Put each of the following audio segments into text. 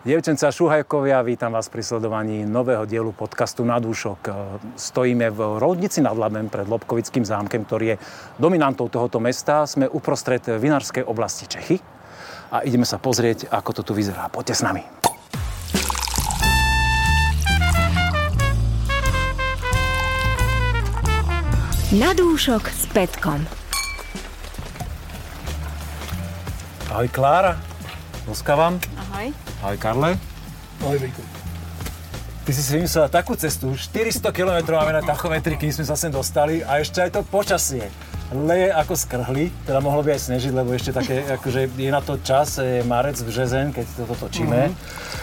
Dievčence a šuhajkovia, vítam vás pri sledovaní nového dielu podcastu Na dúšok. Stojíme v Roudnici nad Labem pred Lobkovickým zámkom, ktorý je dominantou tohoto mesta. Sme uprostred vinárskej oblasti Čechy a ideme sa pozrieť, ako to tu vyzerá. Poďte s nami. Na dúšok s Petkom. Ahoj Klára, boskávam. Ahoj. Ahoj Karle. Ahoj Vejko. Ty si vymyslela takú cestu, 400 km máme na tachometri, kým sme sa sem dostali a ešte aj to počasie. Leje ako skrhli, teda mohlo by aj snežiť, lebo ešte také, akože je na to čas, je marec, březen, keď toto točíme.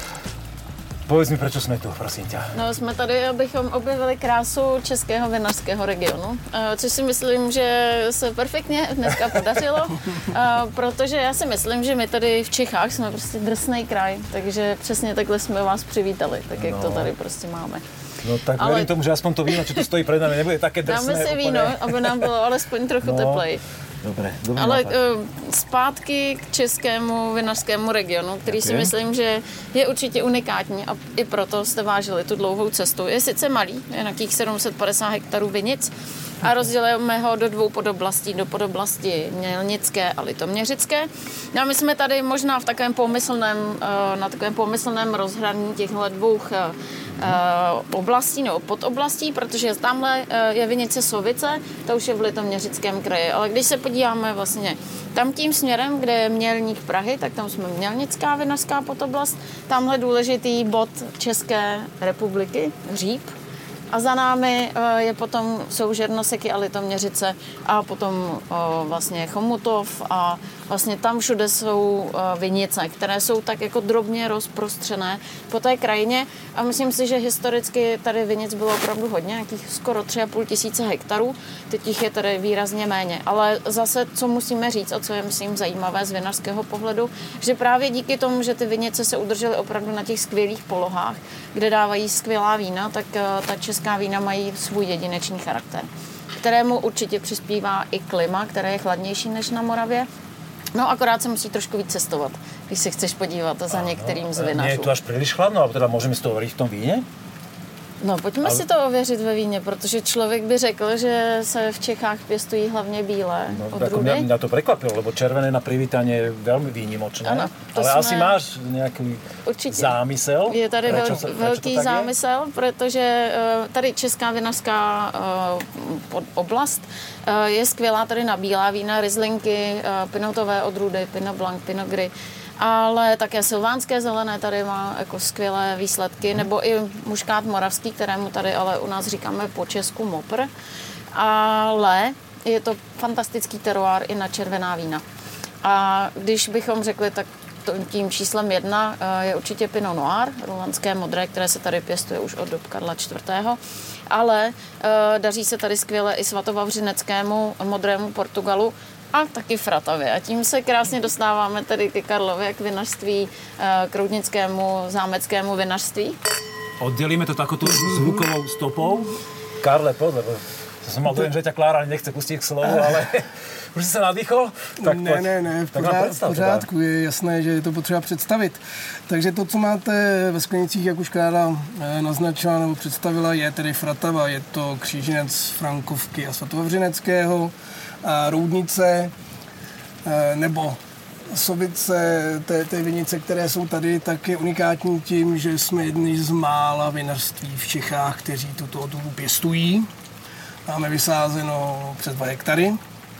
Povedz mi, prečo jsme tu, prosím tě. No, jsme tady, abychom objevili krásu českého vinařského regionu, což si myslím, že se perfektně dneska podařilo, protože já si myslím, že my tady v Čechách jsme prostě drsnej kraj, takže přesně takhle jsme vás přivítali, tak jak to tady prostě máme. No tak verím tomu, že aspoň to víno, čo tu stojí pred nami, nebude také drsné. Dáme si víno, aby nám bylo alespoň trochu teplej. Dobré. Ale zpátky k českému vinařskému regionu, který si myslím, že je určitě unikátní a i proto jste vážili tu dlouhou cestu. Je sice malý, je nějakých 750 hektarů vinic a rozdělujeme ho do dvou podoblastí, do podoblasti mělnické a litoměřické. No a my jsme tady možná v takovém pomyslném rozhraní těchto dvou oblastí nebo podoblastí, protože tamhle je vinice Sovice, to už je v Litoměřickém kraji, ale když se podíváme vlastně tam tím směrem, kde je Mělník Prahy, tak tam jsme Mělnická vinařská podoblast, tamhle důležitý bod České republiky, Říp, a za námi je potom jsou Žernoseky a Litoměřice a potom vlastně Chomutov a vlastně tam všude jsou vinice, které jsou tak jako drobně rozprostřené po té krajině a myslím si, že historicky tady vinic bylo opravdu hodně, nějakých skoro 3,5 tisíce hektarů, teď jich je tady výrazně méně, ale zase, co musíme říct a co je, myslím, zajímavé z vinařského pohledu, že právě díky tomu, že ty vinice se udržely opravdu na těch skvělých polohách, kde dávají skvělá vína, tak ta česká vína mají svůj jedinečný charakter, kterému určitě přispívá i klima, které je chladnější než na Moravě. No, akorát se musí trošku víc cestovat, když se chceš podívat za některým z vinařů. Nie je tu až príliš chladno, alebo teda môžeme si to overiť v tom víne? No, pojďme si to ověřit ve víně, protože člověk by řekl, že se v Čechách pěstují hlavně bílé odrůdy. Mňa to prekvapilo, lebo červené na privítanie je veľmi výnimočné. Ano, ale asi máš nejaký zámysel? Je tady velký zámysel, protože tady Česká vinařská oblast je skvělá tady na bílá vína, rizlinky, pinotové odrůdy, Pinot Blanc, Pinot Gris, ale také silvánské zelené tady má jako skvělé výsledky, nebo i muškát moravský, kterému tady ale u nás říkáme po česku mopr, ale je to fantastický teroár i na červená vína. A když bychom řekli, tak tím číslem 1 je určitě Pinot Noir, rulandské modré, které se tady pěstuje už od dob Karla IV. Ale daří se tady skvěle i svatovavřineckému modrému Portugalu, a taky Fratavě. A tím se krásně dostáváme tedy ke Karlově, k vinařství, k roudnickému, zámeckému vinařství. Oddělíme to takovou zvukovou stopou. Karle, poď, lebo som mal dojem, že ťa Klára nechce pustit k slovu, ale už jsi se nadýchol? Tak ne, v pořádku, je jasné, že je to potřeba představit. Takže to, co máte ve sklenicích, jak už Klára naznačila nebo představila, je tedy Fratava, je to kříženec Frankovky a Svatovavřineckého, a Roudnice nebo Sovice, té vinice, které jsou tady, tak je unikátní tím, že jsme jedni z mála vinařství v Čechách, kteří tuto odrůdu pěstují. Máme vysázeno přes 2 hektary.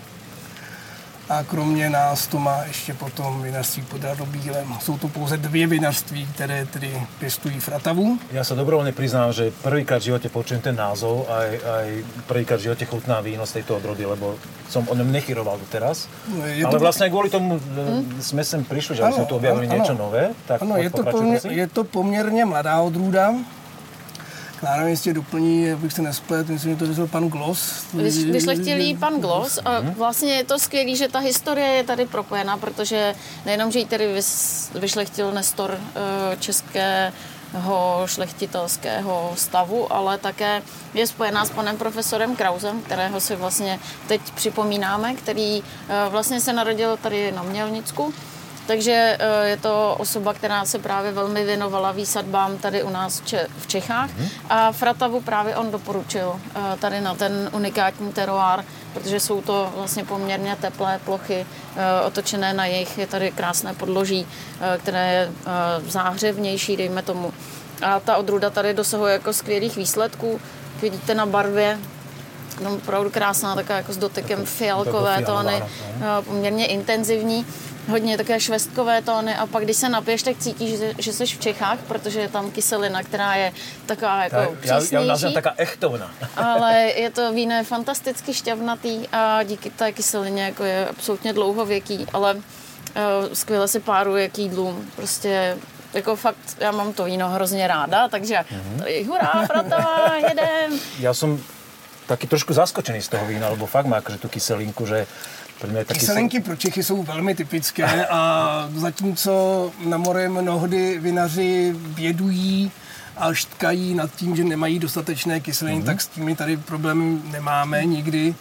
A kromě nás to má ještě potom vinařství pod Radobílem. Jsou to pouze 2 vinařství, které tedy pěstují Fratavu. Ja sa dobrovoľne priznám, že prvýkrát v živote počujem ten názov, aj prvýkrát v živote chutná víno z tejto odrody, lebo som o ňom nechyroval doteraz. Ale vlastne aj kvôli tomu sme sem prišli, že sme tu objavili niečo nové. Tak ano, je to poměrně mladá odrůda. Klára mě jistě doplní, abych se nesplet, myslím, že to vyzval pan Gloss. Vyšlechtilý pan Gloss a vlastně je to skvělý, že ta historie je tady propojená, protože nejenom, že ji tady vyšlechtil Nestor českého šlechtitelského stavu, ale také je spojená s panem profesorem Krausem, kterého si vlastně teď připomínáme, který vlastně se narodil tady na Mělnicku Takže je to osoba, která se právě velmi věnovala výsadbám tady u nás v Čechách. A Fratavu právě on doporučil tady na ten unikátní teroár, protože jsou to vlastně poměrně teplé plochy, otočené na jih. Je tady krásné podloží, které je záhřevnější, dejme tomu. A ta odrůda tady dosahuje jako skvělých výsledků. Vidíte na barvě, no, opravdu krásná, taková jako s dotykem fialkové tóny, poměrně intenzivní. Hodně také švestkové tóny a pak, když se napiješ, tak cítíš, že jsi v Čechách, protože je tam kyselina, která je taková jako přísnější. Já nazvem taká echtovna. Ale je to víno je fantasticky šťavnatý a díky té kyselině jako je absolutně dlouhověký, ale skvěle se páruje k jídlům. Prostě jako fakt, já mám to víno hrozně ráda, takže tady hurá, Fratava, jedem. Ja som taký trošku zaskočený z toho vína, lebo fakt má akože tú kyselinku, že kyselinky pro Čechy jsou velmi typické a zatímco na moře mnohdy vinaři bědují a štkají nad tím, že nemají dostatečné kyseliny, tak s tím tady problémy nemáme nikdy.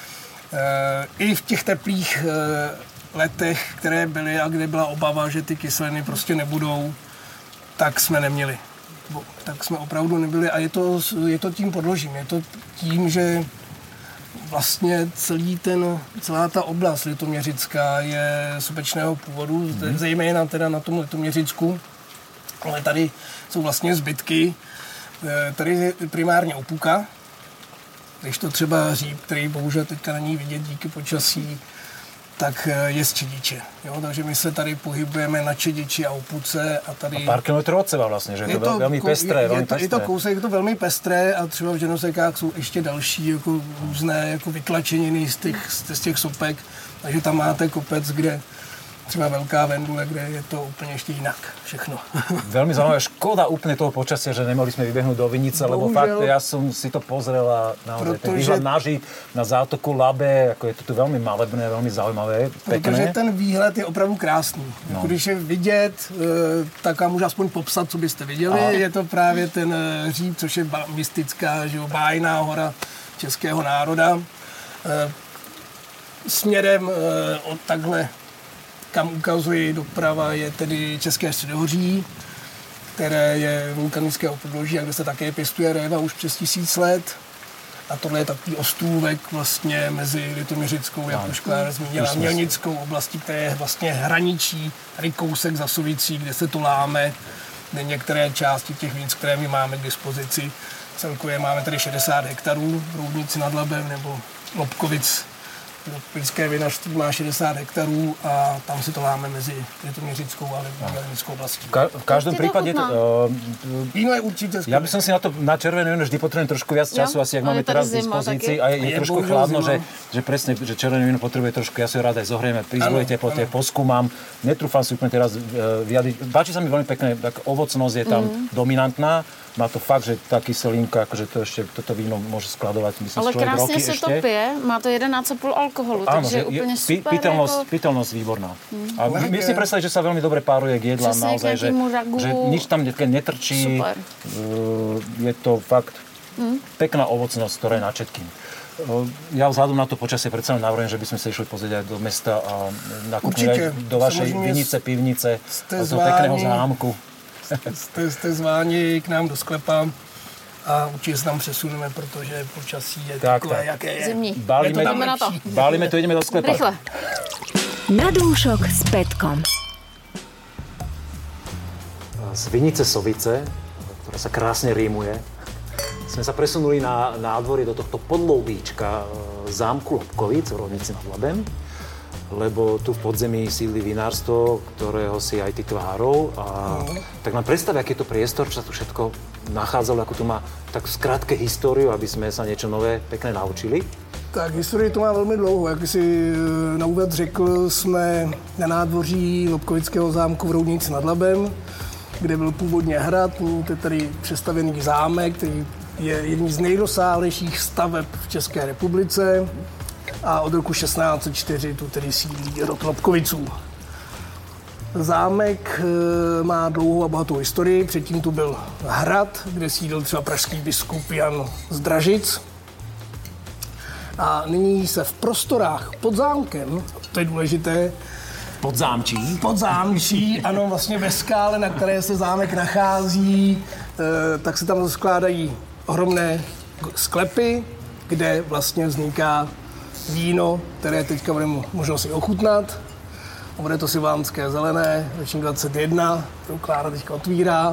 I v těch teplých letech, které byly a kde byla obava, že ty kyseliny prostě nebudou, tak jsme neměli. Tak jsme opravdu nebyli a je to tím podložím. Je to tím, že vlastně celá ta oblast litoměřická je sopečného původu, zejména teda na tom Litoměřicku, ale tady jsou vlastně zbytky. Tady je primárně opuka, když to třeba hříb, který bohužel teďka není vidět díky počasí, tak je z čediče. Jo? Takže my se tady pohybujeme na čediči a opuce. A tady... A pár kilometrů od seba vlastně, že je to velmi pestré. Je to kousek, je to velmi pestré a třeba v Ženosekách jsou ještě další jako různé jako vytlačeniny z těch sopek. Takže tam máte kopec, kde třeba Velká Vendule, kde je to úplně ještě jinak všechno. Veľmi zaujímavé, škoda úplne toho počasia, že nemohli sme vybehnúť do Vinice, lebo fakt ja som si to pozrel a naozaj ten výhľad na Žid, na zátoku Labe, ako je to tu veľmi malebné, veľmi zaujímavé, pekné. Protože ten výhled je opravdu krásný. No. Když je vidět, tak vám můžu aspoň popsat, co byste viděli. A... Je to právě ten hříb, což je mystická, že bájná hora českého národa. Směrem od takhle kam ukazuji doprava, je tedy České středohoří, které je vulkanického podloží a kde se také pěstuje réva už přes 1000 let. A tohle je takový ostůvek vlastně mezi Litoměřickou, jak už Klára zmínila, Mělnickou oblastí, které je vlastně hraničí, tady kousek za Sovicí, kde se to láme, kde některé části těch víc, které my máme k dispozici. Celkově máme tady 60 hektarů v Roudnici nad Labem nebo Lobkovic. Lipské vinařství má 60 hektarů a tam si to láme mezi Litoměřickou a Mělnickou oblastí. V každom prípade víno je určite skvělé. Ja by som si na červené víno vždy potrebujem trošku viac času, asi jak máme teraz v dispozícii. A je trošku chladno, že presne, že červené víno potrebuje trošku, ja si ho rád aj zohrieme, pri zlej teplote, poskúmam. Netrúfam si úplne teraz vyjadriť. Páči sa mi veľmi pekné, tak ovocnosť je tam dominantná. Má to fakt, že tá kyselinka, akože to ešte, toto víno môže skladovať, myslím, ale človek roky ešte. Ale krásne sa to pije, má to 11,5 alkoholu, takže je úplne super. Piteľnosť výborná. A my si predstaviť, že sa veľmi dobre páruje k jedlám, naozaj, že nič tam netrčí. Super. Je to fakt pekná ovocnosť, ktorá je na všetkým. Ja vzhľadom na to počasie predsa len navrhujem, že by sme sa išli pozrieť aj do mesta a nakúpili aj do vašej vinice, pivnice, do toho pekného zámku. Jste zváni k nám do sklepa a určitě se tam přesuneme, protože počasí je takové, jaké je. Zimní. Bálime to, ideme do sklepa. Rychle. Na dúšok s Petkom. Z Vinice Sovice, ktorá sa krásne rímuje, sme sa presunuli na nádvorie do tohto podloubíčka zámku Lobkovic v Roudnici nad Labem, lebo tu v podzemí sídli vinárstvo, ktorého si aj ty tvárov. Tak nám predstav, aký je to priestor, čo sa tu všetko nachádzalo, ako tu má tak skrátke históriu, aby sme sa niečo nové, pekné naučili. Tak historii to má velmi dlouho. Jak si na úvod řekl, jsme na nádvoří Lobkovického zámku v Roudnici nad Labem, kde byl původně hrad, to je tady přestavěný zámek, který je jedním z nejrozsáhlejších staveb v České republice. A od roku 1604 tu tedy sídlí rod Lobkoviců. Zámek má dlouhou a bohatou historii. Předtím tu byl hrad, kde sídlil třeba pražský biskup Jan z Dražic. A nyní se v prostorách pod zámkem, to je důležité, Podzámčí, ano, vlastně ve skále, na které se zámek nachází, tak se tam skládají ohromné sklepy, kde vlastně vzniká víno, které teďka budeme možno si ochutnat. Bude to silvánské zelené, ročník 21, kterou Klára teďka otvírá.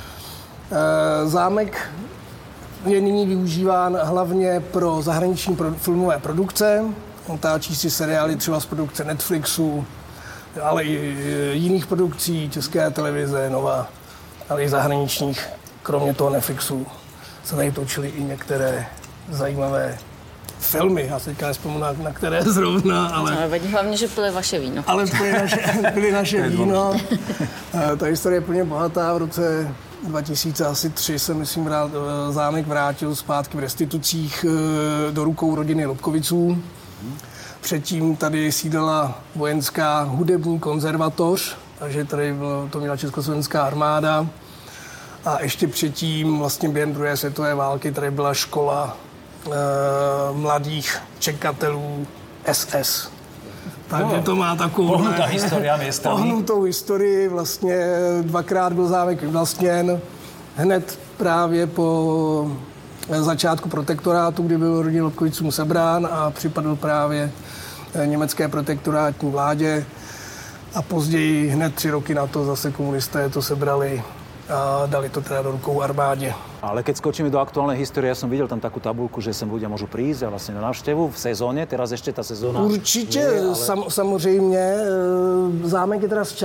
Zámek je nyní využíván hlavně pro zahraniční filmové produkce. Natáčí si seriály třeba z produkce Netflixu, ale i jiných produkcí, České televize, Nova, ale i zahraničních. Kromě toho Netflixu se tady točily i některé zajímavé filmy. Já se teďka nespomínám, na které zrovna, ale... Hlavně, že pili vaše víno. Ale pili naše víno. Ta historie je plně bohatá. V roce 2003 se, myslím, zámek vrátil zpátky v restitucích do rukou rodiny Lobkoviců. Předtím tady sídlila vojenská hudební konzervatoř, takže tady to měla československá armáda. A ještě předtím, vlastně během druhé světové války, tady byla škola mladých čekatelů SS. Takže to má takovou pohnutou historii. Vlastně dvakrát byl zámek vyvlastněn. Hned právě po začátku protektorátu, kdy byl rodina Lobkovicům sebrán a připadl právě německé protektorátní vládě. A později, hned 3 roky na to, zase komunisté to sebrali a dali to teda do rukou armádě. Ale keď skočíme do aktuálnej histórie, ja som videl tam takú tabuľku, že sem ľudia môžu prísť a vlastne na návštevu v sezóne, teraz ešte tá sezóna... Určitě, ale... samozřejmě. Zámek je teda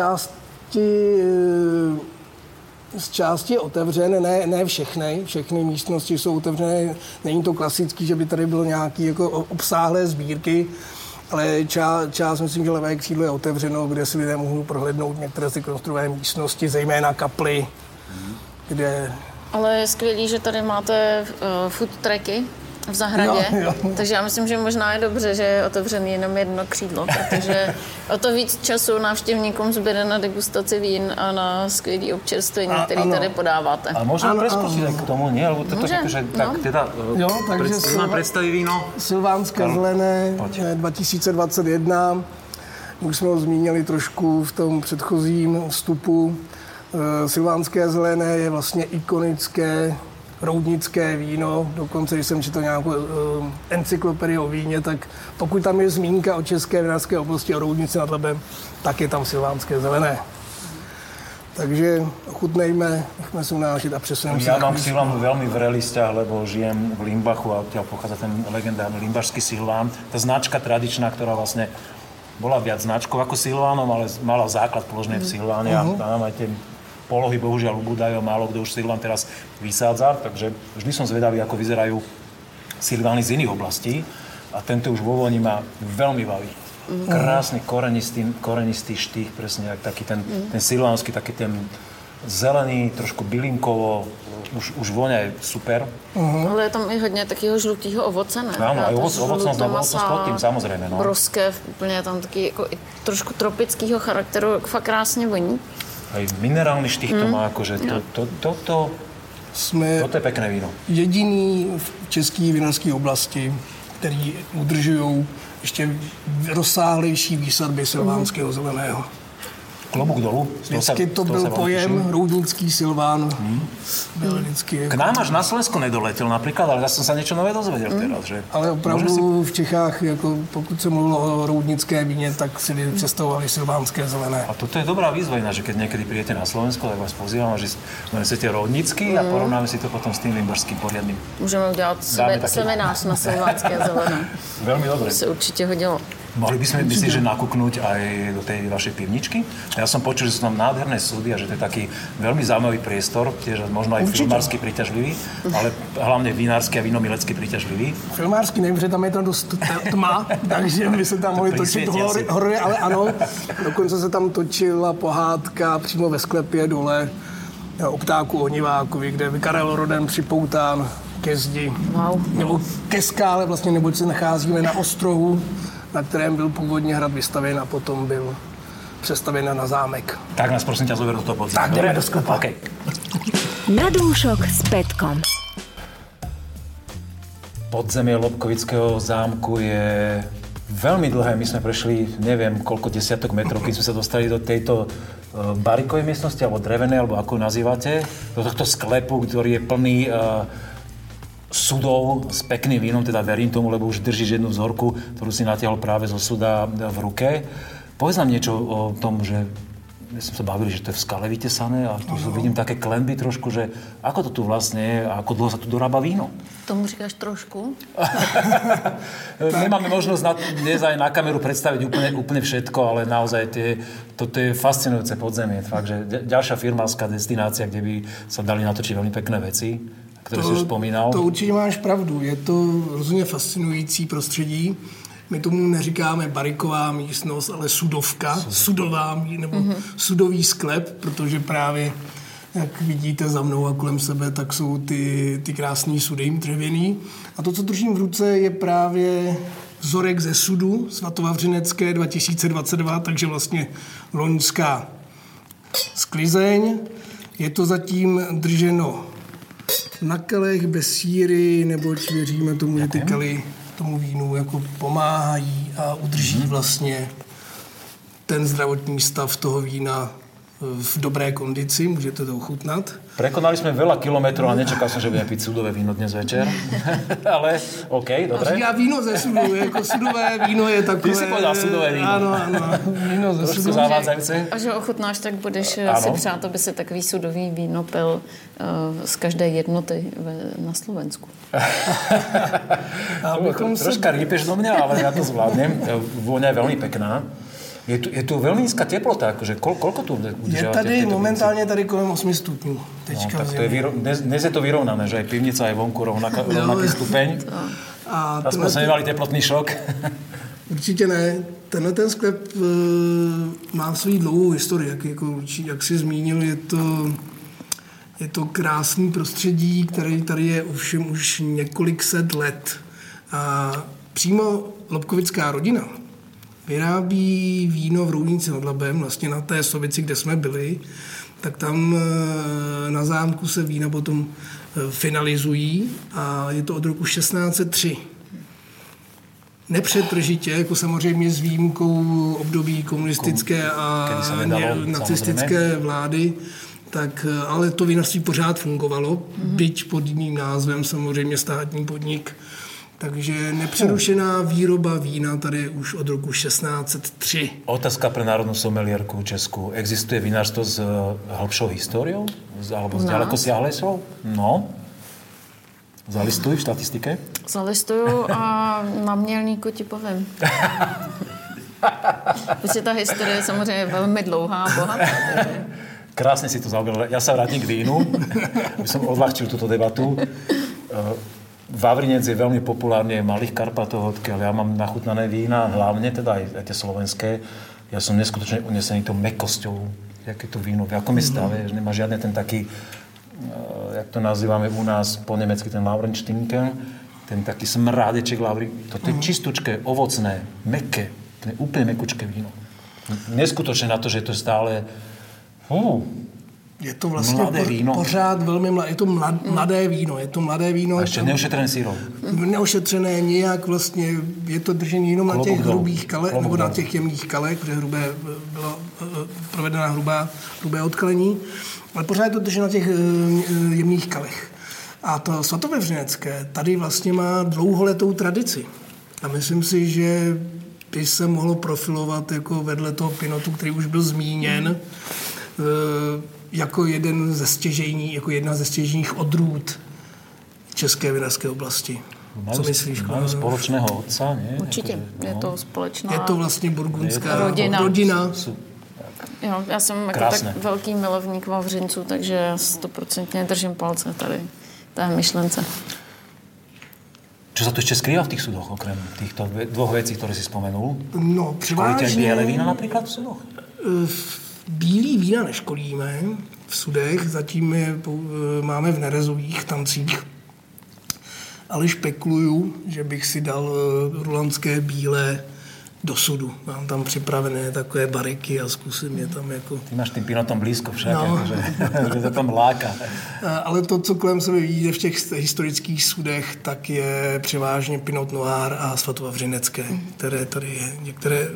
z části otevřen, ne všechny. Všechny místnosti jsou otevřené. Není to klasický, že by tady bylo nějaké jako obsáhlé sbírky, ale část, myslím, že levé křídlo je otevřeno, kde si lidé mohou prohlédnout některé si konstruované místnosti, zejména kaply, kde... Ale je skvělý, že tady máte food tracky v zahradě, jo. Takže já myslím, že možná je dobře, že je otevřený jenom jedno křídlo, protože o to víc času návštěvníkům zbyde na degustaci vín a na skvělý občerstvení, který tady podáváte. Ale môžeme preskočiť aj k tomu, nie? Lebo toto že tak teda predstaví víno. Silvánské zelené 2021. Už jsme ho zmínili trošku v tom předchozím vstupu. Silvánské zelené je vlastně ikonické roudnické víno. Dokonce, když jsem četl nějakou encyklopedii o víně, tak pokud tam je zmínka o české vinařské oblasti a Roudnici nad Labem, tak je tam silvánské zelené. Takže ochutnejme, nechme si unášet a přesuneme sa. Ja mám k Silvánu veľmi vrelý vzťah, lebo žijem v Limbachu a odtiaľ pochádza ten legendárny limbašský Silván. Tá značka tradičná, ktorá vlastne bola viac značkou ako Silvánom, ale mala základ položený v Silváne a tam aj tie polohy bohužiaľ ubúdajú, málo kto už Silván teraz vysádza, takže vždy som zvedavý, ako vyzerajú Silvány z iných oblastí a tento už vo voni ma veľmi baví. Krásny korenistý štých, presne jak taký ten silvánsky, taký ten zelený, trošku bylinkovo, už voňa je super. Ale je tam i hodně takého žlutého ovoce, ne? Áno, aj ovocnosť pod tým, samozrejme. No. Broské, úplně tam taky jako i trošku tropického charakteru, fakt krásně voní. Aj minerálny štých to má, akože toto je pekné víno. Jediný v české vinařské oblasti, který udržují ještě rozsáhlejší výsadby silvánského zeleného. Klobúk dolu. Vždycky to byl pojem roudnický Silván. K nám až na Slovensku nedoletel napríklad, ale ja som sa niečo nové dozvedel teraz. Že ale opravdu v Čechách, jako pokud se mluvilo o roudnické víně, tak si představovali silvánské zelené. A toto je dobrá výzva, že keď niekedy prídete na Slovensko, tak vás pozývam, že donesete roudnický a porovnáme si to potom s tým limbašským poriadnym. Můžeme udělat seminář na silvánské zelené. Veľmi dobre. To se určitě hodilo. Mohli by sme, myslíš, že nakúknúť aj do tej vašej pivničky? Ja som počul, že sú tam nádherné súdy a že to je taký veľmi zaujímavý priestor, tiež možno aj filmársky príťažlivý, ale hlavne vinársky a vínomilecký príťažlivý. Filmársky nevím, že tam je to dost tma, takže by se tam mohli točit hory, ale ano. Dokonce se tam točila pohádka přímo ve sklepě dole o ptáku Onivákovi, kde je Karel Roden připoután ke zdi. Wow. Nebo ke skále, vlastně, neboť se nacházíme na ostrohu, na kterém byl původně hrad vystavěn a potom byl přestavěn na zámek. Tak nás prosím ťa zober do toho podzemia. Tak jdeme do sklepa. Okay. Na dúšok s Petkom. Podzemie Lobkovického zámku je veľmi dlhé. My sme prešli, neviem, koľko desiatok metrov, keď sme sa dostali do tejto barikovej miestnosti, alebo drevenej, alebo ako nazývate, do tohto sklepu, ktorý je plný sudov s pekným vínom, teda verím tomu, lebo už držíš jednu vzorku, ktorú si natiahol práve zo suda v ruke. Povedz nám niečo o tom, že my sme sa bavili, že to je v skale vytesané a tu vidím také klenby trošku, že ako to tu vlastne je a ako dlho sa tu dorába víno. Tomu říkáš trošku? Nemáme možnosť dnes aj na kameru predstaviť úplne všetko, ale naozaj toto je fascinujúce podzemie. Fakt, že ďalšia firmárska destinácia, kde by sa dali natočiť veľmi pekné veci, ktoré si už spomínal. To určitě máš pravdu. Je to rozhodně fascinující prostředí. My tomu neříkáme bariková místnost, ale sudovka, sudová nebo sudový sklep, protože právě, jak vidíte za mnou a kolem sebe, tak jsou ty krásný sudy dřevěný. A to, co držím v ruce, je právě vzorek ze sudu Svatovavřinecké 2022, takže vlastně loňská sklizeň. Je to zatím drženo na kelech bez síry, neboť věříme tomu, že ty kely tomu vínu jako pomáhají a udrží vlastně ten zdravotní stav toho vína v dobré kondici. Můžete to ochutnat. Prekonali sme veľa kilometrov a nečakal som, že budeme piť sudové víno dnes večer. Ale OK, dobre. A víno ze sudu, jako sudové víno je takové... Ty si povedal sudové víno. Ano, víno ze sudu. Trošku zavádzajúce. A že ochutnáš, tak budeš si přát, aby si takový sudový víno pil z každé jednoty na Slovensku. Troška rýpeš do mňa, ale ja to zvládnem. Vôňa je veľmi pekná. Je tu veľmi nízka teplota, akože koľko tu udržávate? Je tady momentálně tady kolem 8 stupňů. Teďka tak to je dnes je to vyrovnané, že aj pivnica je vonku rovnaký stupeň. Aspoň sme nemali teplotný šok. Určitě ne. Tenhle ten sklep má svou dlouhou historii, jak jsi zmínil, je to krásný prostředí, který tady je ovšem už několik set let. A přímo Lobkovická rodina vyrábí víno v Roudnici nad Labem, vlastně na té Sovici, kde jsme byli, tak tam na zámku se vína potom finalizují a je to od roku 1603. Nepřetržitě, jako samozřejmě s výjimkou období komunistické a nacistické vlády, tak, ale to vinařství pořád fungovalo, byť pod jiným názvem, samozřejmě státní podnik. Takže nepřerušená výroba vína tady je už od roku 1603. Otázka pre národnú somelierku Česku. Existuje vinárstvo s hĺbšou históriou? Alebo s ďaleko siahlejšou? No. Zalistuj v štatistike? Zalistuju a na Mělníku ti povím. Protože ta historie je samozřejmě velmi dlouhá a bohatá. Krásne si to zaoberala. Ja sa vrátim k vínu, aby som odľahčil túto debatu. Vavrinec je veľmi populárne v Malých Karpatoch, odkiaľ ja mám nachutnané vína, hlavne teda aj tie slovenské. Ja som neskutočne unesený tou mäkkosťou, jaké to víno, v akom je stave, že nemá žiadne ten taký, jak to nazývame u nás po nemecky, ten Laurenštinken, ten taký smrádeček Lauri. Toto je čistúčké, ovocné, mäkké, úplne mäkkučké víno. Neskutočne na to, že to je stále... Je to vlastně pořád velmi mladé, je to mladé víno. A ještě neošetřené sírou. Neošetřené nijak vlastně, je to držení jenom na těch hrubých kalech, nebo na těch jemných kalech, protože bylo provedena hrubé odkalení, ale pořád je to drženo na těch jemných kalech. A to Svatovavřinecké tady vlastně má dlouholetou tradici. A myslím si, že by se mohlo profilovat jako vedle toho pinotu, který už byl zmíněn, jako jedna ze stěžejních odrůd české vinařské oblasti. Co myslíš? Máme společného otca, ne? Určitě, je to společná... Je to vlastně burgundská rodina. Jo, já jsem jako tak velký milovník Vavřinců, takže já 100% držím palce tady té myšlence. Čo sa tu ešte skrýva v tých sudoch, okrem týchto dvoch vecí, ktoré si spomenul? No, převážně... Školíte biele vína napríklad v sudoch? Bílý vína neškolíme v sudech, zatím je máme v nerezových tancích. Ale špekuluju, že bych si dal rulandské bílé do sudu. Mám tam připravené takové bariky a zkusím je tam jako... Ty máš tým pinotom blízko však, že to tam láka. Ale to, co kolem sebe vidíte v těch historických sudech, tak je převážně pinot noir a svatovavřinecké, které tady je. Některé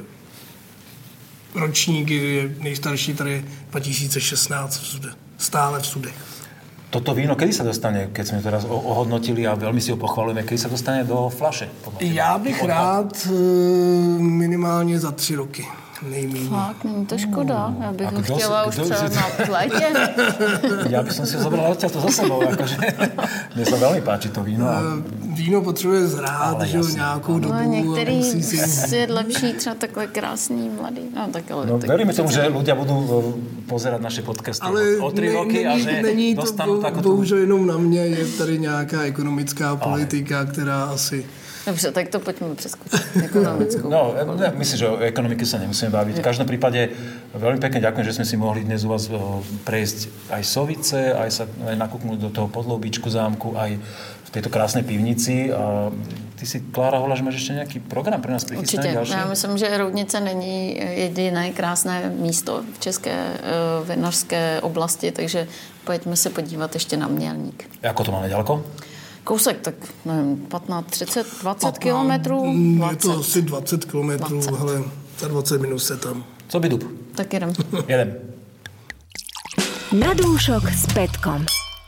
ročníky, nejstarší tady je 2016 v sude, stále v sudech. Toto víno, kedy sa dostane, keď sme teraz ohodnotili a veľmi si ho pochvalujeme, kedy sa dostane do fľaše? Já bych rád minimálně za 3 roky. Nejméně. Fakt, není to škoda. Já bych ho chtěla už třeba na létě. Já bych si ho zobral odtiaľ to za sebou. Akože. Mne sa veľmi páči to víno. Víno potřebuje zrát, že nějakou dobu. No, některý je lepší, třeba takové krásný, mladý. No, tak ale, no, tak veríme tomu, že ľudia budú pozerať naše podcasty o 3 roky a že dostanú takúto... Bohužel jenom na mě, je tady nějaká ekonomická politika, která asi... Dobře, tak to pojďme přeskočiť. Ekonomickou. No, myslím, že o ekonomiky sa nemusíme baviť. V každom prípade veľmi pekne ďakujem, že sme si mohli dnes u vás prejsť aj sovice, aj nakúknúť do toho podloubíčku zámku, aj v tejto krásnej pivnici. A ty si, Klára, hovorila, že máš ešte nejaký program pre nás prichystaný? Určitě. Já myslím, že Roudnice není jediné krásné místo v české vinařské oblasti, takže pojďme se podívat ještě na Mělník. Ako to máme ďaleko? Kousek, tak nevím, 15, 30, 20 kilometrů? Je to asi 20 kilometrů, ale za 20 minut se tam. Co by dub? Tak jedem. Jedem. Na dúšok s Petkom.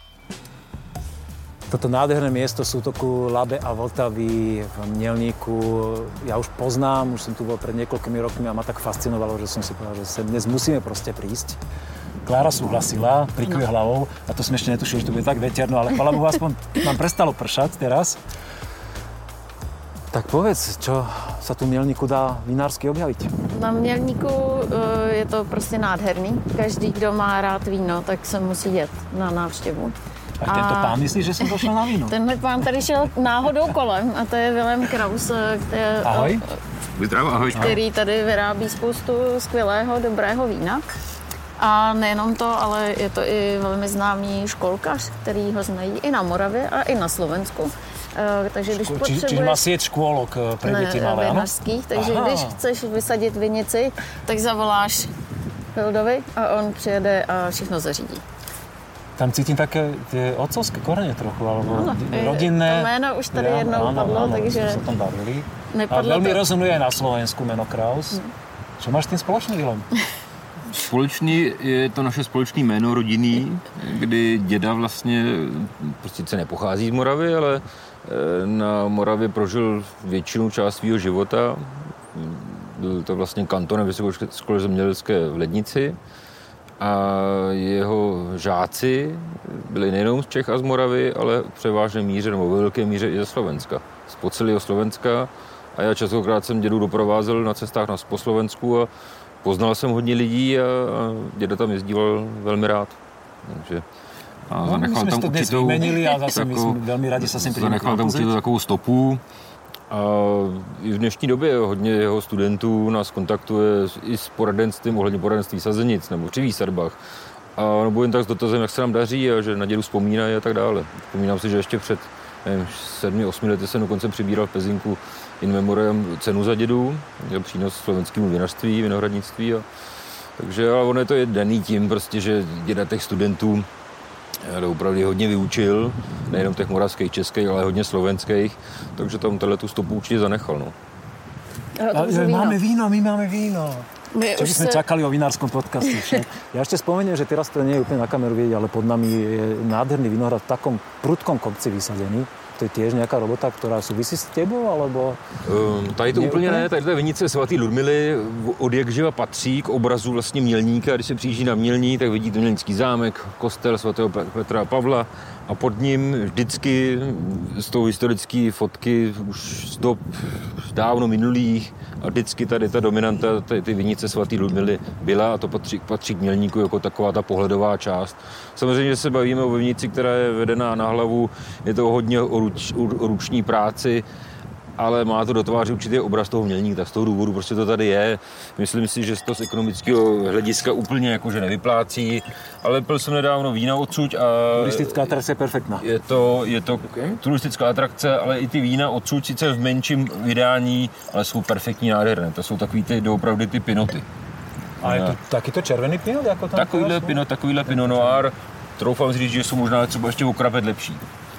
Toto nádherné miesto sútoku Labe a Vltavy v Mělníku ja už poznám, už som tu bol pred niekoľkými rokmi a ma tak fascinovalo, že som si povedal, že sem dnes musíme proste prísť. Klára súhlasila, prikuje hlavou a to sme ešte netušili, že to bude tak veterno, ale chvála Bohu, aspoň nám prestalo pršať teraz. Tak povedz, čo sa tu v Mělníku dá vinársky objaviť? Na Mělníku je to prostě nádherný. Každý, kdo má rád víno, tak se musí jet na návštěvu. A tento pán myslí, že jsem došel na víno? Tenhle pán tady šel náhodou kolem a to je Vilém Kraus, ahoj. Ahoj. Který tady vyrábí spoustu skvělého, dobrého vína. A nejenom to, ale je to i velmi známý školkař, který ho znají i na Moravě a i na Slovensku. Takže když potřebuješ... Čiže má sieť škôlok pre deti malé, áno? Vinařských, takže když chceš vysadit vinici, tak zavoláš Hildovi a on přijede a všechno zařídí. Tam cítim také tie otcovské korene trochu, alebo rodinné. To jméno už tady jednou padlo, takže... Áno, sa tam bavili. A veľmi rezonuje aj na Slovensku meno Kraus. Čo máš s tým spoločný, Vilém? Společný je to naše společné jméno rodinný, kdy děda vlastně sice nepochází z Moravy, ale na Moravě prožil většinu část svého života. Byl to vlastně kantonem Vysoké školy zemědělské v Lednici a jeho žáci byli nejenom z Čech a z Moravy, ale v převážné míře nebo ve velké míře i ze Slovenska. Z celého Slovenska a já častokrát jsem dědu doprovázel na cestách po Slovensku a poznal jsem hodně lidí a děda tam jezdíval velmi rád. Takže a zanechal tam určitou takovou stopu. A i v dnešní době hodně jeho studentů nás kontaktuje i s poradenstvím ohledně poradenství sazenic nebo při výsadbách. A nebo jen tak s dotazem, jak se nám daří a že na dědu vzpomínají a tak dále. Vzpomínám si, že ještě před 7-8 lety jsem dokonce přibíral v Pezinku in memoriam cenu za dědu, přínos slovenskému vinařství, vinohradnictví. Takže ale ono je to daný tím, prostě, že děda těch studentů opravdu hodně vyučil, nejenom těch moravských, českých, ale hodně slovenských, takže tam tu stopu určitě zanechal. No. Máme víno, my máme víno. Čo by sme čakali o vinárskom podcaste však. Ja ešte spomeniem, že teraz to nie je úplne na kameru vidieť, ale pod nami je nádherný vinohrad v takom prudkom kopci vysadený. To je tiež nejaká robota, ktorá súvisí s tebou, alebo... Tady to úplně ne, tady ta vinice svatý Ludmily od jakživa patří k obrazu vlastně Mělníka. Když se přijíždí na Mělník, tak vidíte Mělnický zámek, kostel svatého Petra a Pavla a pod ním vždycky z toho historické fotky už z dob dávno minulých a vždycky tady ta dominanta, ty vinice svatý Ludmily byla a to patří k Mělníku jako taková ta pohledová část. Samozřejmě, že se bavíme o vinici, která je vedená na hlavu, je to hodně o ruční práci ale má to do tváře určitý obraz toho mělníka, tak z toho důvodu prostě to tady je. Myslím si, že to z ekonomického hlediska úplně jakože nevyplácí, ale pil jsem nedávno vína odsud a... Turistická atrakce je perfektná. Je to turistická atrakce, ale i ty vína odsud sice v menším vydání, ale jsou perfektní, nádherné. To jsou takový ty doopravdy ty pinoty. A je to takýto červený pinot? Jako tam Takovýhle pinot noir, troufám říct, že jsou možná třeba ještě okrapet lepší.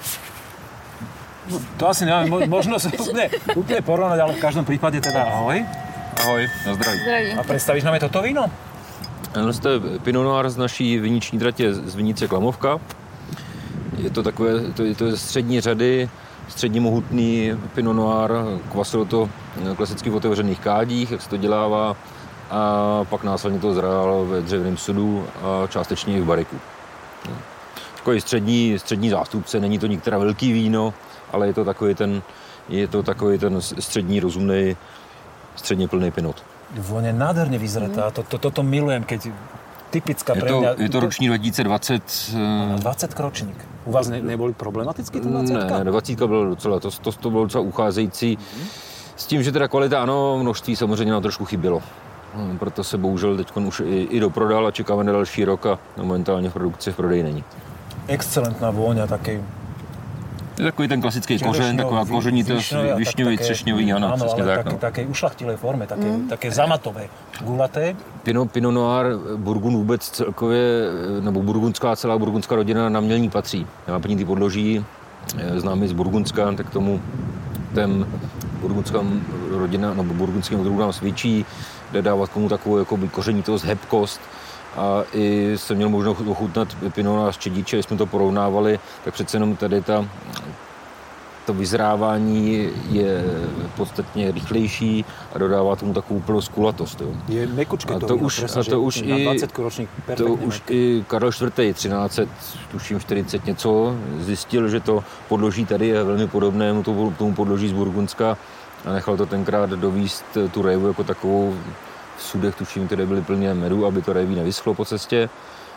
No, to asi neviem, možno sa úplne porovnať, ale v každom prípade teda ahoj. Ahoj, na zdraví. A predstavíš nám je toto víno? Ano, to je Pinot Noir z naší viniční tratě z vinice Klamovka. Je to takové, to je střední řady, středně mohutný Pinot Noir, kvasilo to klasicky v otevřených kádích, jak se to dělává, a pak následně to zrál ve dřevěném sudu a částečně i v bariku. Takový střední zástupce, není to některá velký víno, ale je to takový ten střední, rozumný, středně plný pinot. Vône nádherne vyzretá, toto milujem, keď typická pre mňa... Je to ročník 2020. 20 ročník. U vás neboli problematický ten 20? Ne, 20 bylo docela, to bylo docela ucházející. S tím, že teda kvalita, ano, množství samozřejmě nám trošku chybělo. Proto se bohužel teď už i doprodal a čekáme na další rok a momentálně v produkci v prodeji není. Excelentná vôňa, takej... Je takový ten klasický kořen, taková kořenitost, višňový, třešňový, ano, přesně tak. No. Také ušlachtilé forme, také zamatové, gulaté. Pinot Noir, Burgund vůbec celkově, nebo celá burgundská rodina na mělník patří. Náplní ty podloží, známý z Burgundska, tak tomu ten burgundská rodina, nebo burgundským odrůdám svědčí, dodává k tomu takovou jakoby kořenitost, hebkost. A i jsem měl možnost ochutnat Pinot Noir z Čediče, jsme to porovnávali, tak přece jenom tady to vyzrávání je podstatně rychlejší a dodává tomu takovou úplnou skulatost. Jo. Je mekučké to víno, to už i Karel IV. 1340 něco zjistil, že to podloží tady je velmi podobné tomu podloží z Burgundska a nechal to tenkrát dovízt tu révu jako takovou v sudech, tuším, které byly plně medu, aby to réví nevyschlo po cestě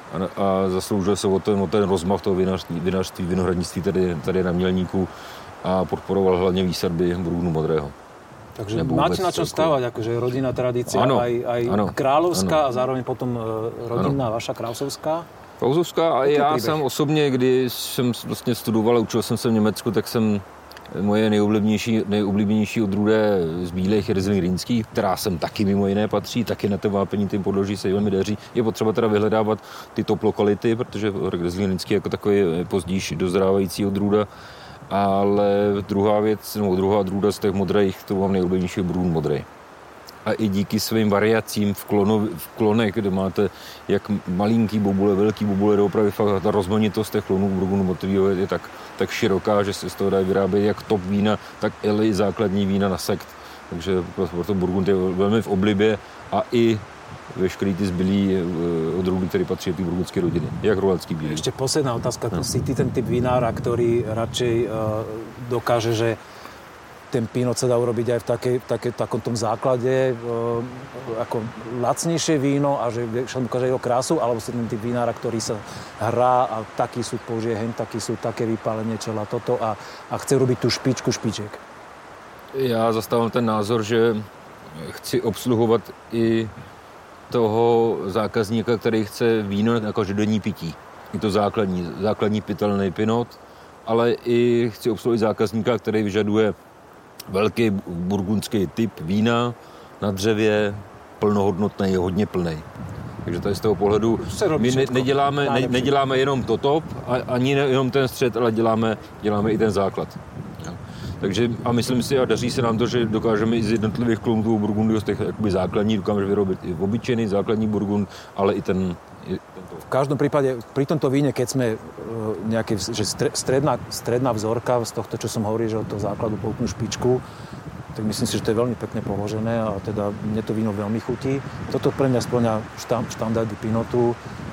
a zasloužil se o ten rozmach toho vinařství, vinohradnictví tady na Mělníku a podporoval hlavně výsadby Burgundu modrého. Takže máte na čom stávať, akože rodinná tradícia, aj kráľovská a zároveň potom rodinná vaša Krausovská? Krausovská a já sám osobně, kdy jsem vlastně studoval a učil jsem se v Německu, tak jsem moje nejoblíbenější odrůda z bílých je Riesling rýnský, která sem taky mimo jiné patří, taky na to vápení tím podloží se velmi daří. Je potřeba teda vyhledávat ty top lokality, protože Riesling rýnský jako takový pozdější dozrávající odrůda. Ale druhá věc, nebo druhá odrůda z těch modrých, to mám nejoblíbenější Burgund modrý. A i díky svým variacím v klonech, kde máte jak malinký bobule, velký bobule, doopravdy fakt ta rozmanitost těch klonů Burgundu modrýho je tak široká, že se z toho dá vyrábět jak top vína, tak i základní vína na sekt. Takže proto Burgund je velmi v oblibě a i veškerý ty zbylí odrůdy, které patří do té burgundské rodiny, jak rolecký bílý. Ešte posledná otázka. No. Si ty ten typ vinára, ktorý radšej dokáže, že ten pinot sa dá urobiť aj v takom tom základe ako lacnejšie víno a že však dokáže jeho krásu, alebo si ten typ vinára, ktorý sa hrá a taký súd použije hen, taký súd, také vypálenie čela, toto a chce robiť tú špičku špiček. Já zastávám ten názor, že chci obsluhovat i toho zákazníka, který chce víno na každodenní pití. Je to základní pitelný pinot, ale i chci obsluhovat zákazníka, který vyžaduje velký burgundský typ vína na dřevě, plnohodnotný, hodně plný. Takže tady z toho pohledu my neděláme jenom to top, ani jenom ten střed, ale děláme i ten základ. Takže a myslím si, a daří se nám to, že dokážeme i z jednotlivých klonů Burgundu, z těch jakoby základní, dokážeme vyrobit i obyčejný základní Burgund, ale i ten... V každom prípade, pri tomto víne, keď sme nejaké, že stredná vzorka z tohto, čo som hovoril, že od toho základu po úplnú špičku, tak myslím si, že to je veľmi pekne položené a teda mne to víno veľmi chutí. Toto pre mňa spĺňa štandardy pinotu,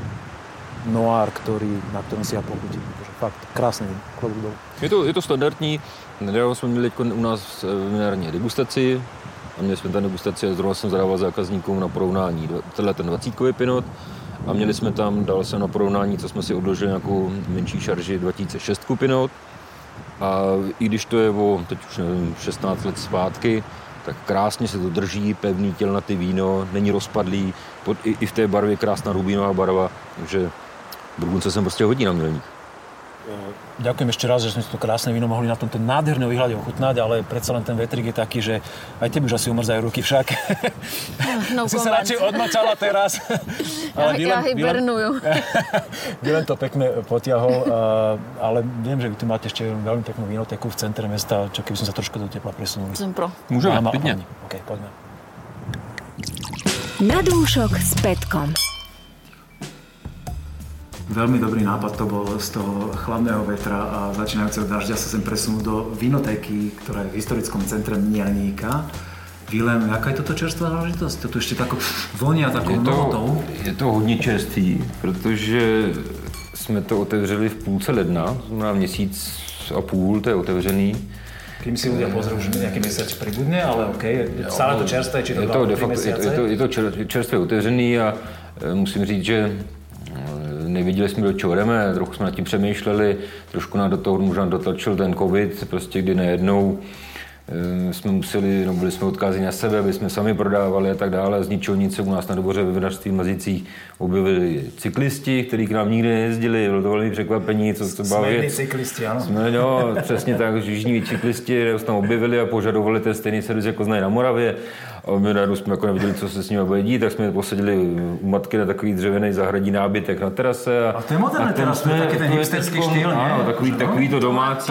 noir, na ktorom si ja pochutím. Fakt krásný klobúk dolu. Je to standardní. Nedávno jsme měli u nás vinární degustaci a měli jsme tam degustaci a zrovna jsem zadával zákazníkům na porovnání tenhle ten 20kový pinot a měli jsme tam, dal jsem na porovnání, co jsme si odložili nějakou menší šarži 2006 pinot A i když to je teď už nevím, 16 let zpátky, tak krásně se to drží, pevný tělnatý víno, není rozpadlý, i v té barvě krásná rubínová barva, takže Burgundce sem prostě hodí na milník. Ďakujem ešte raz, že sme si to krásne víno mohli na tomto nádhernom výhľade ochutnať, ale predsa len ten vetrik je taký, že aj tebe už asi umrzajú ruky však. No si sa radšej odmočala teraz. Ja hibernujú. Dylan to pekne potiahol, ale viem, že vy tu máte ešte veľmi peknú vínoteku v centre mesta, čo keby som sa trošku do tepla presunuli. Som pro. Môžeme, pekne. OK, poďme. Na dúšok s Petkom. Veľmi dobrý nápad to bol z toho chladného vetra a začínajúceho dažďa sa sem presunúť do vinotéky, ktorá je v historickom centre Mnianíka. Vilém, jaká je toto čerstvá záležitosť? Toto ešte tako vonia takou novotou. Je to hodně čerstvý, protože jsme to otevřeli v půlce ledna, znamená měsíc a půl, to je otevřený. Kým si ľudia pozrú, že nejaký mesiac pribudne, ale OK, je stále to čerstvé, či to 2-3 mesiace? Je to čerstvě otevřený a musím říct, že nevěděli jsme, do čeho jdeme, trochu jsme nad tím přemýšleli, trošku nám do toho možná dotlačil ten covid, prostě kdy najednou jsme museli, byli jsme odkázáni na sebe, aby jsme sami prodávali a tak dále. Z ničeho nic se u nás na Dvoře ve vinařství v Mazicích objevili cyklisti, kteří k nám nikdy nejezdili, bylo to velmi překvapení, co to byla věc. Smední cyklisti, ano. No, přesně tak, jižní cyklisti se tam objevili a požadovali ten stejný servis, jako znají na Moravě. A my najednou jsme jako nevěděli, co se s nimi bude dít, tak jsme je posadili u matky na takový dřevěný zahradní nábytek na terase. A to je moderné teraz, to je taky ten hipsterský štýl, ano, takový to domácí,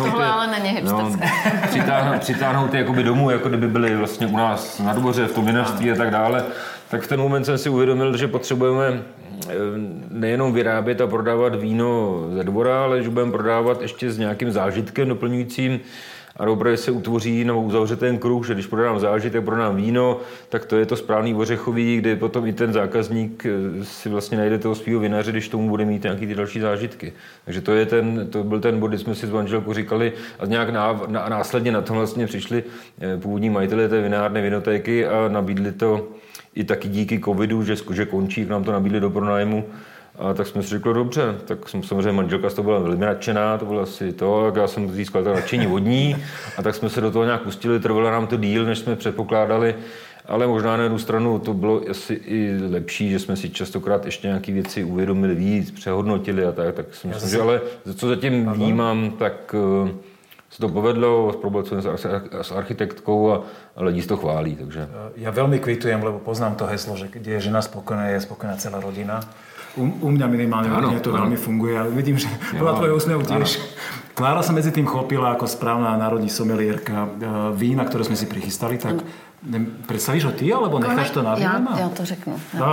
přitáhnout je jakoby domů, jako kdyby byli vlastně u nás na Dvoře, v tom vinařství a tak dále. Tak v ten moment jsem si uvědomil, že potřebujeme nejenom vyrábět a prodávat víno ze Dvora, ale že budeme prodávat ještě s nějakým zážitkem doplňujícím. A opravdu se utvoří nebo uzavře ten kruh, že když prodám zážitek, prodám víno, tak to je to správný ořechový, kde potom i ten zákazník si vlastně najde toho svýho vinaře, když tomu bude mít nějaký ty další zážitky. Takže to byl ten bod, kdy jsme si s manželkou říkali a nějak následně na tom vlastně přišli původní majitelé té vinárny vinotéky a nabídli to i taky díky covidu, že končí, k nám to nabídli do pronájmu. A tak jsme si řekli, dobře, tak jsem samozřejmě manželka z toho byla velmi nadšená, to bylo asi to, jak já jsem získal to nadšení vodní a tak jsme se do toho nějak pustili, trvalo nám to díl, než jsme předpokládali, ale možná na jednu stranu to bylo asi i lepší, že jsme si častokrát ještě nějaké věci uvědomili víc, přehodnotili a tak si myslím, že ale co zatím vnímám, tak se to povedlo, spolupracujeme s architektkou a lidi to chválí. Takže. Ja veľmi kvitujem, lebo poznám to heslo, že kde je žena spokojná, je spokojná celá rodina. U mňa minimálne to veľmi funguje, ale vidím, že podľa tvojho úsmevu tiež. Klára sa medzi tým chopila ako správna národní somelierka vína, ktoré sme si prichystali, tak představíš ho ty, alebo necháš to na vína? Já to řeknu.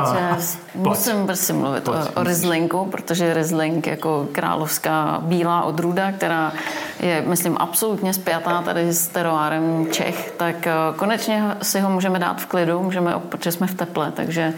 Musím prostě mluvit o Rieslinku, protože Riesling jako královská bílá odrůda, která je, myslím, absolutně spjatá tady s teroárem Čech, tak konečně si ho můžeme dát v klidu, protože jsme v teple, takže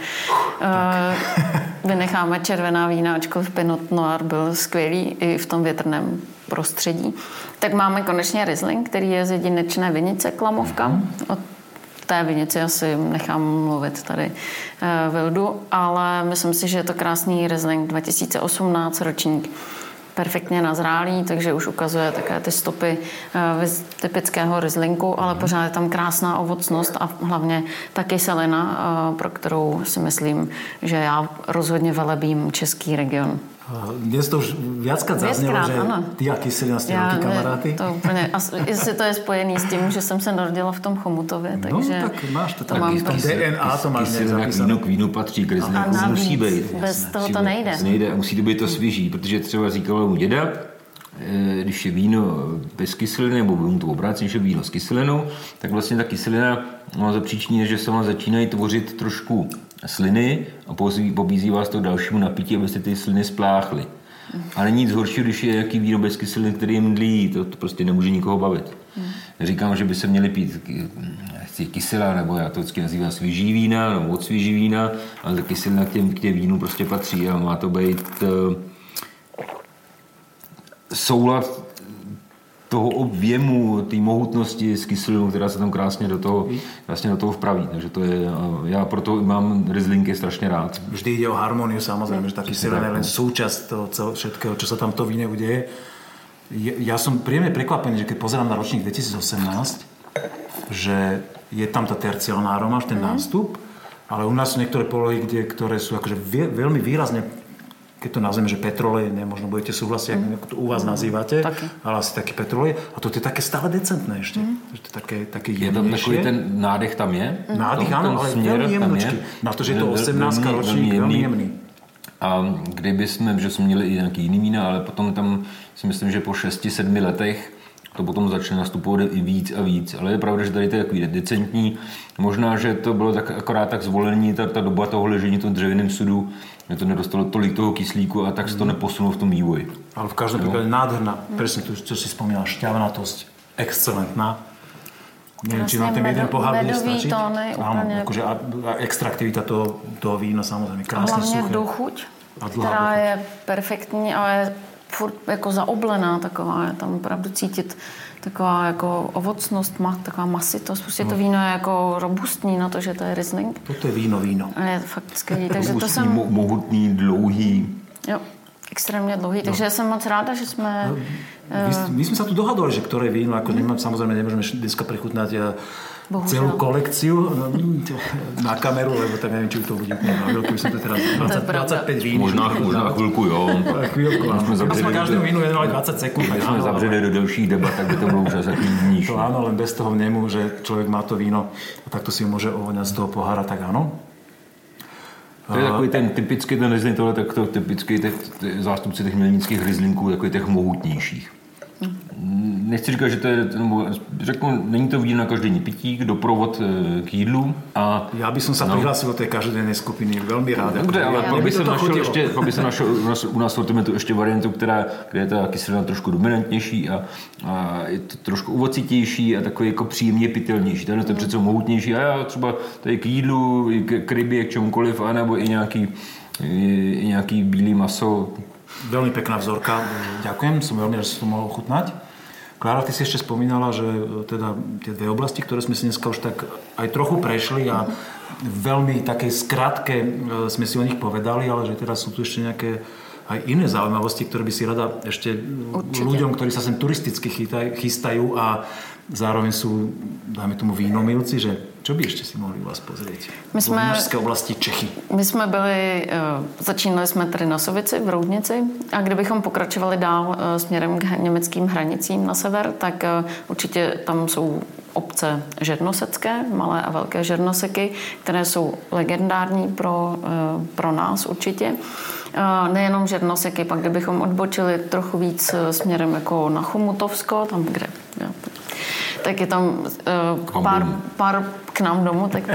vynecháme červená vína, ačkoliv Pinot Noir byl skvělý i v tom větrném prostředí. Tak máme konečně Riesling, který je z jedinečné vinice Klamovka. Od té vinici asi nechám mluvit tady Vildu, ale myslím si, že je to krásný Riesling 2018 ročník. Perfektně nazrálý, takže už ukazuje také ty stopy typického Rieslinku, ale pořád je tam krásná ovocnost a hlavně ta kyselina, pro kterou si myslím, že já rozhodně velebím český region. Dnes to už viackrát zaznelo, že ty a kyselina ste veľkí kamaráty. To úplně, jestli to je spojený s tím, že jsem se narodila v tom Chomutově, takže no, tak máš to mám v tom DNA, to máš zapísané. K vínu patří, k Rieslinku musí být. Bez toho to nejde. Musí to být to svěží, protože třeba říkal mu děda, když je víno bez kyseliny, nebo mu to obráceně, že víno s kyselinou, tak vlastně ta kyselina má za příčině, že se vám začínají tvořit trošku sliny a pobízí vás to k dalšímu napití, abyste ty sliny spláchly. Ale nic horšího, když je jaký víno bez kyseliny, který je mdlý, to prostě nemůže nikoho bavit. Říkám, že by se měli pít kyselá, nebo já to vždycky nazývám svěží vína, nebo od svěží vína, ale ta kyselina k těm vínu prostě patří a má to být soulad toho objemu, té mohutnosti s kyselinou, která se tam krásně do toho vpraví. Takže to je, já proto mám Rieslingy strašně rád. Vždy ide o harmóniu, samozrejme, že tá kyselina je len súčasť toho všetkého, čo sa tam to víne udeje. Ja som príjemne prekvapený, že keď pozerám na ročník 2018, že je tam tá terciálna aroma, ten nástup, ale u nás sú niektoré polohy, ktoré sú akože veľmi výrazne, keď to nazveme, že petrolej, možno budete súhlasiť, ako to u vás nazývate, ale asi taký petrolej. A to je také stále decentné ešte. Že to je také jemnejšie. Je tam takový ten nádech tam je? Nádech, áno, ale veľmi jemnočký. Na to, že je to 18 ročník, veľmi jemný. A kdyby jsme, že jsme měli i nějaký jiný vína, ale potom tam si myslím, že po 6-7 letech to potom začne nastupovat i víc a víc. Ale je pravda, že tady to je takový decentní. Možná, že to bylo tak akorát tak zvolení, ta doba toho ležení v tom dřevěném sudu, že to nedostalo tolik toho kyslíku a tak se to neposunulo v tom vývoji. Ale v každém případě nádherná, presne to, čo si spomínal, šťavnatosť, excelentná. Neviem, či na ten jeden pohár bude stačiť. Áno, akože extraktivita toho vína samozrejme krásne suché. Hlavně dochuť, která je perfektní, ale furt jako zaoblená taková, je tam opravdu cítit taková jako ovocnost, taková masitost. Prostě to víno je jako robustní na to, že to je Riesling. Toto je víno. Je fakt skvělý, takže to jsem... Mohutný, dlouhý. Jo, extrémně dlouhý, takže jsem moc ráda, že jsme... My sme sa tu dohadovali, že ktoré víno, ako samozrejme nemôžeme dneska prechutnať celú kolekciu na kameru, lebo tak neviem, či to bude na veľkú, by som to teraz 25 vín. Možná chvíľku, jo. Chvíľku, áno. A sme každému vínu venovali 20 sekúnd. My sme zavřeli do delších debat, tak by to bolo už asi klidnější. To áno, len bez toho vnemu, že človek má to víno a takto si ho môže ovoňať z toho pohára, tak áno. To je takový ten typický, ten Riesling, tohle takto typický zástupci těch mělnických Rieslinků, takových těch mohutnějších. Nechci říkat, že to je, řeknu, není to víno na každodenní pití, doprovod k jídlu. A, já bych se přihlásil do té každodenní skupiny, velmi rád. Dobře, ale pak by se našel u nás sortimentu ještě variantu, kde je ta kyselina trošku dominantnější a je to trošku ovocitější a takový jako příjemně pitelnější. Tenhle to je přece mohutnější a já třeba tady k jídlu, k rybě, k čemukoliv, anebo i nějaký bílý maso. Veľmi pekná vzorka, ďakujem, som veľmi rád, že som to mohol ochutnať. Klára, ty si ešte spomínala, že teda tie dve oblasti, ktoré sme si dneska už tak aj trochu prešli a veľmi takej skratke sme si o nich povedali, ale že teraz sú tu ešte nejaké aj iné zaujímavosti, ktoré by si rada ešte ľuďom, ktorí sa sem turisticky chystajú a zároveň sú, dáme tomu, vínomilci, že čo by ešte si mohli vás pozrieť? V vinařské oblasti Čechy. My jsme začínali jsme tady na Sovici, v Roudnici a kdybychom pokračovali dál směrem k německým hranicím na sever, tak určitě tam jsou obce žernosecké, malé a velké žernoseky, které jsou legendární pro nás určitě. Nejenom žernoseky, pak kdybychom odbočili trochu víc směrem jako na Chomutovsko, tam kde... tak je tam pár k nám domů, tak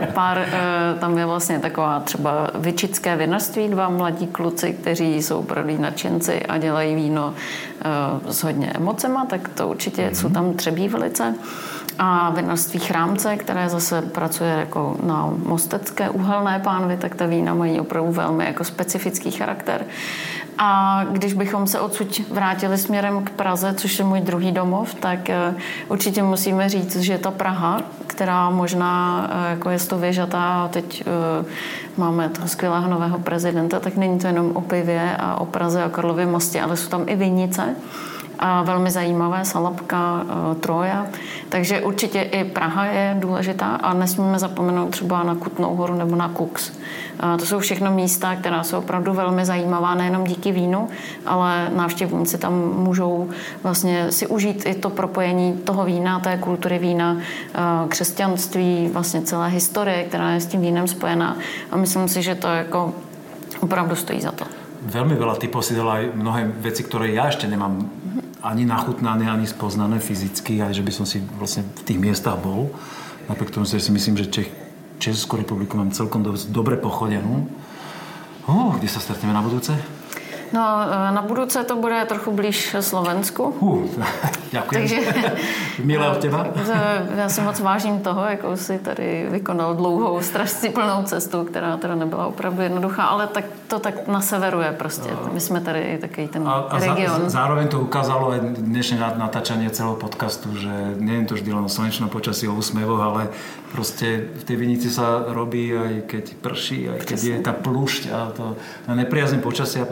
tam je vlastně taková třeba Vyčické vinařství, 2 mladí kluci, kteří jsou opravdu nadšenci a dělají víno s hodně emocema, tak to určitě jsou tam Třebí velice. A vinařství Chrámce, které zase pracuje jako na mostecké uhelné pánvi, tak ta vína mají opravdu velmi jako specifický charakter. A když bychom se odsud vrátili směrem k Praze, což je můj druhý domov, tak určitě musíme říct, že ta Praha, která možná jako je stověžatá, teď máme toho skvělého nového prezidenta, tak není to jenom o pivě a o Praze a Karlově mostě, ale jsou tam i vinice. A velmi zajímavé, Salapka, Troja. Takže určitě i Praha je důležitá a nesmíme zapomenout třeba na Kutnou Horu nebo na Kux. To jsou všechno místa, která jsou opravdu velmi zajímavá, nejenom díky vínu, ale návštěvníci tam můžou vlastně si užít i to propojení toho vína, té kultury vína, křesťanství, vlastně celé historie, která je s tím vínem spojená. A myslím si, že to jako opravdu stojí za to. Veľmi veľa typov si dala aj mnohé veci, ktoré ja ešte nemám ani nachutnané, ani spoznané fyzicky, aj že by som si vlastne v tých miestach bol. Napriek tomu si myslím, že Českú republiku mám celkom dobre pochodenú. Kde sa stretneme na budúce? No, na budúce to bude trochu blíž Slovensku. Ďakujem. Takže, milé od teba. Já si moc vážím toho, jakou si tady vykonal dlouhou, strašně plnou cestu, která teda nebyla opravdu jednoduchá, ale tak to tak na severu je prostě. My jsme tady takový ten region. Zároveň to ukázalo aj dnešné natáčanie celého podcastu, že nie je to vždy len o slnečnom počasí, o úsmevoch, ale proste v tej vinici sa robí aj keď prší, aj keď je tá plúšť a to na nepriazne počasia, proste to k tomu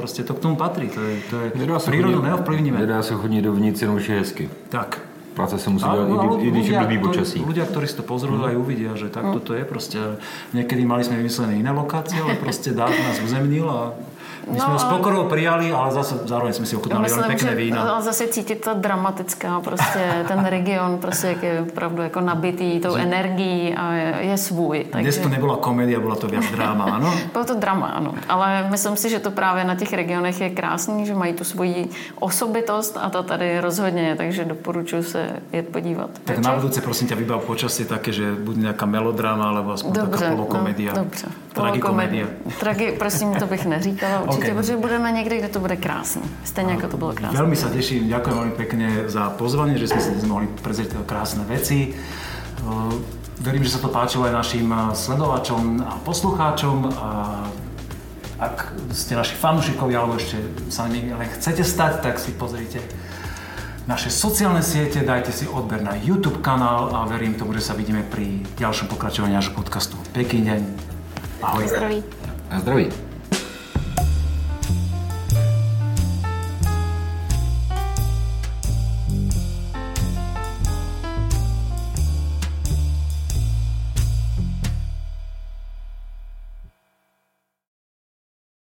tomu patrí, to je prírodu neovplyvníme. Nedá se chodit dovnitř, jenom už je hezky. Tak. Práce se musí dělat, i když je blbý počasí. Ľudia, ktorí si to pozrú, aj uvidia, že takto to je proste. Niekedy mali sme vymyslené iné lokácie, ale proste Dáv nás uzemnil a my sme ho s pokorou prijali, ale zase zároveň sme si ochutnali veľmi pekné vína. Ale zase cítit ta dramatická, prostě ten region, prostě jak je opravdu jako nabitý tou energií a je svůj. Dnes to nebyla komédia, byla to viac dráma, ano? Bylo to drama, ano. Ale myslím si, že to právě na těch regionech je krásný, že mají tu svoji osobitost a to tady rozhodně je, takže doporučuji se jet podívat. Tak na budúce prosím ťa vybav počasie také, že bude nejaká melodráma alebo aspoň taká polokomédia. No, dobře. Tragikomédia. Prosím, to bych neříkala určitě, protože budeme někde, kde to bude krásné. Stejně jako to bylo krásné. Veľmi sa teším, ďakujem veľmi pekne za pozvanie, že sme si dnes mohli prezrieť krásne veci. Verím, že sa to páčilo aj našim sledovačom a poslucháčom. A ak ste naši fanúšikovia alebo ešte sa ale chcete stať, tak si pozrite naše sociálne siete, dajte si odber na YouTube kanál a verím tomu, že sa vidíme pri ďalšom pokračovaní nášho podcastu. Pekný deň. Ahoj. Zdraví. A zdraví.